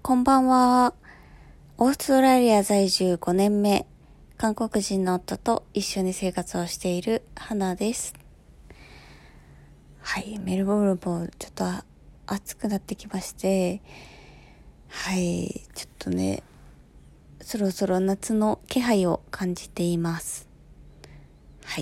こんばんは。オーストラリア在住5年目、韓国人の夫と一緒に生活をしている花です。はい、メルボルンもちょっと暑くなってきまして、はい、ちょっとね、そろそろ夏の気配を感じています。はい。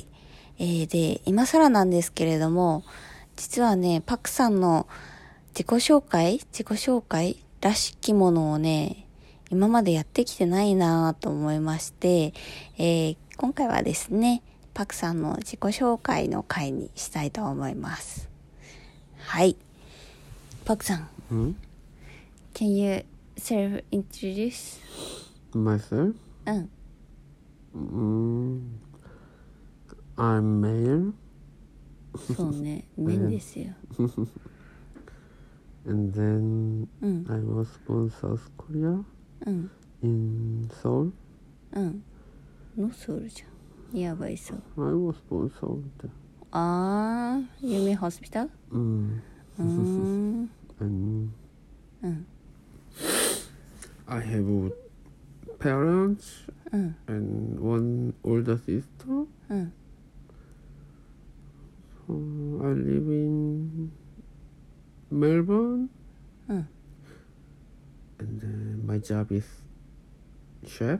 で、今更なんですけれども、実はね、パクさんの自己紹介らしきものをね、今までやってきてないなぁと思いまして、今回はですね、パクさんの自己紹介の回にしたいと思います。はい。パクさん。Can you self-introduce? Myself? I'm male. そうね、面ですよ。 And then I was born South Korea in Seoul. のソウルじゃん。やばいそう。 I was born Seoul. 有名ホスピタル And I have parents and one older sister. I live in Melbourne. And my job is chef.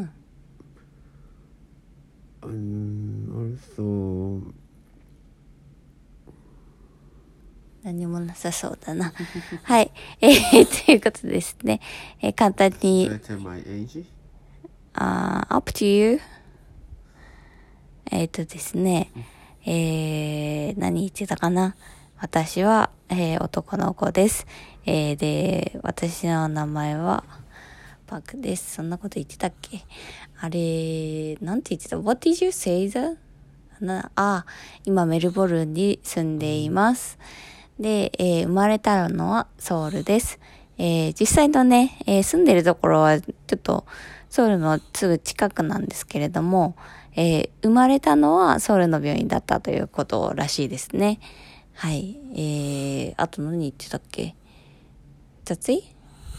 And also 何もなさそうだな。はい。ということですね。簡単に。 Should I tell my age? Up to you. ですね。何言ってたかな。私は、男の子です。で、私の名前はパクです。そんなこと言ってたっけ？あれ、なんて言ってた？ What did you say that? 今メルボルンに住んでいます。で、生まれたのはソウルです。実際のね、住んでるところはちょっとソウルのすぐ近くなんですけれども、生まれたのはソウルの病院だったということらしいですね。はい。あと何言ってたっけ？雑い？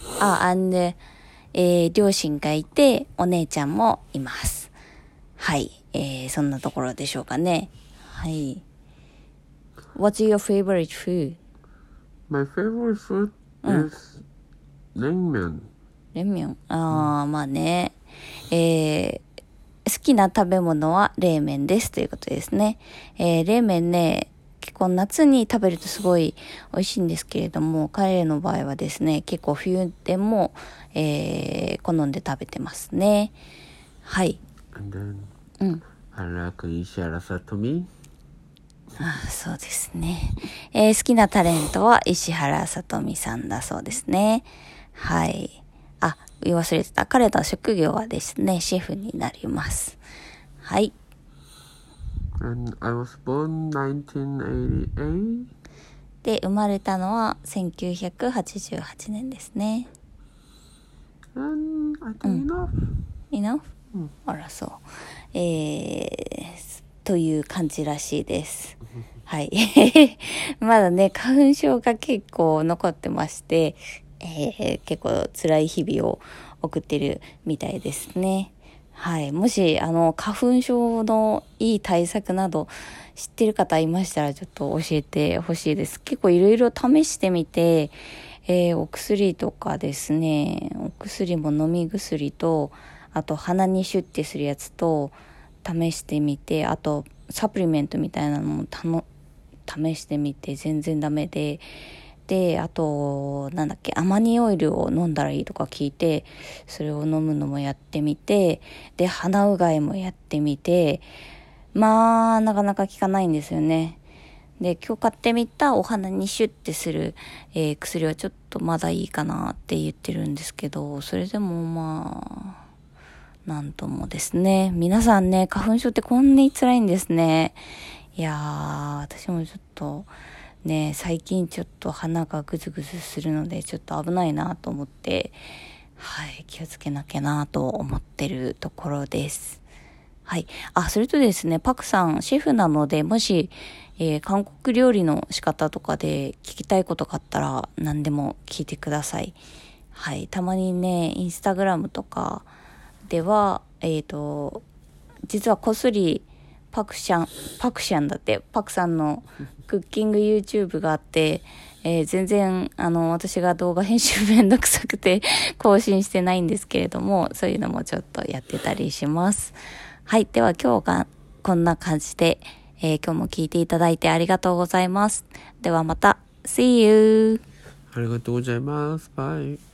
両親がいて、お姉ちゃんもいます。はい。そんなところでしょうかね。はい。What's your favorite food? My favorite food is ramen. 冷麺。まあね。好きな食べ物は冷麺ですということですね。冷麺ね、結構夏に食べるとすごい美味しいんですけれども、彼の場合はですね、結構冬でも、好んで食べてますね。はい。 And then I like Ishihara Satomi. そうですね。好きなタレントは石原さとみさんだそうですね。はい。言い忘れてた。彼の職業はですね、シェフになります。はい。 And I was born 1988. で、生まれたのは1988年ですね。 And I think enough. あら、そう。という感じらしいです。はい。まだね、花粉症が結構残ってまして、結構辛い日々を送ってるみたいですね。はい。もし、花粉症のいい対策など知ってる方いましたらちょっと教えてほしいです。結構いろいろ試してみて、お薬とかですね、お薬も飲み薬と、あと鼻にシュッてするやつと試してみて、あとサプリメントみたいなのも試してみて全然ダメで、あとアマニオイルを飲んだらいいとか聞いて、それを飲むのもやってみて、で鼻うがいもやってみて、まあなかなか効かないんですよね。で今日買ってみたお鼻にシュッてする、薬はちょっとまだいいかなって言ってるんですけど、それでもまあなんともですね。皆さんね、花粉症ってこんなに辛いんですね。いやー、私もちょっとね、最近ちょっと鼻がグズグズするのでちょっと危ないなと思って、はい、気をつけなきゃなと思ってるところです。はい。それとですね、パクさん、シェフなので、もし、韓国料理の仕方とかで聞きたいことがあったら何でも聞いてください。 はい、たまにね、インスタグラムとかでは、実はこっそりパクシャンだって、パクさんのクッキング YouTube があって、全然、私が動画編集めんどくさくて更新してないんですけれども、そういうのもちょっとやってたりします。はい。では今日がこんな感じで、今日も聞いていただいてありがとうございます。ではまた。See you! ありがとうございます。バイ。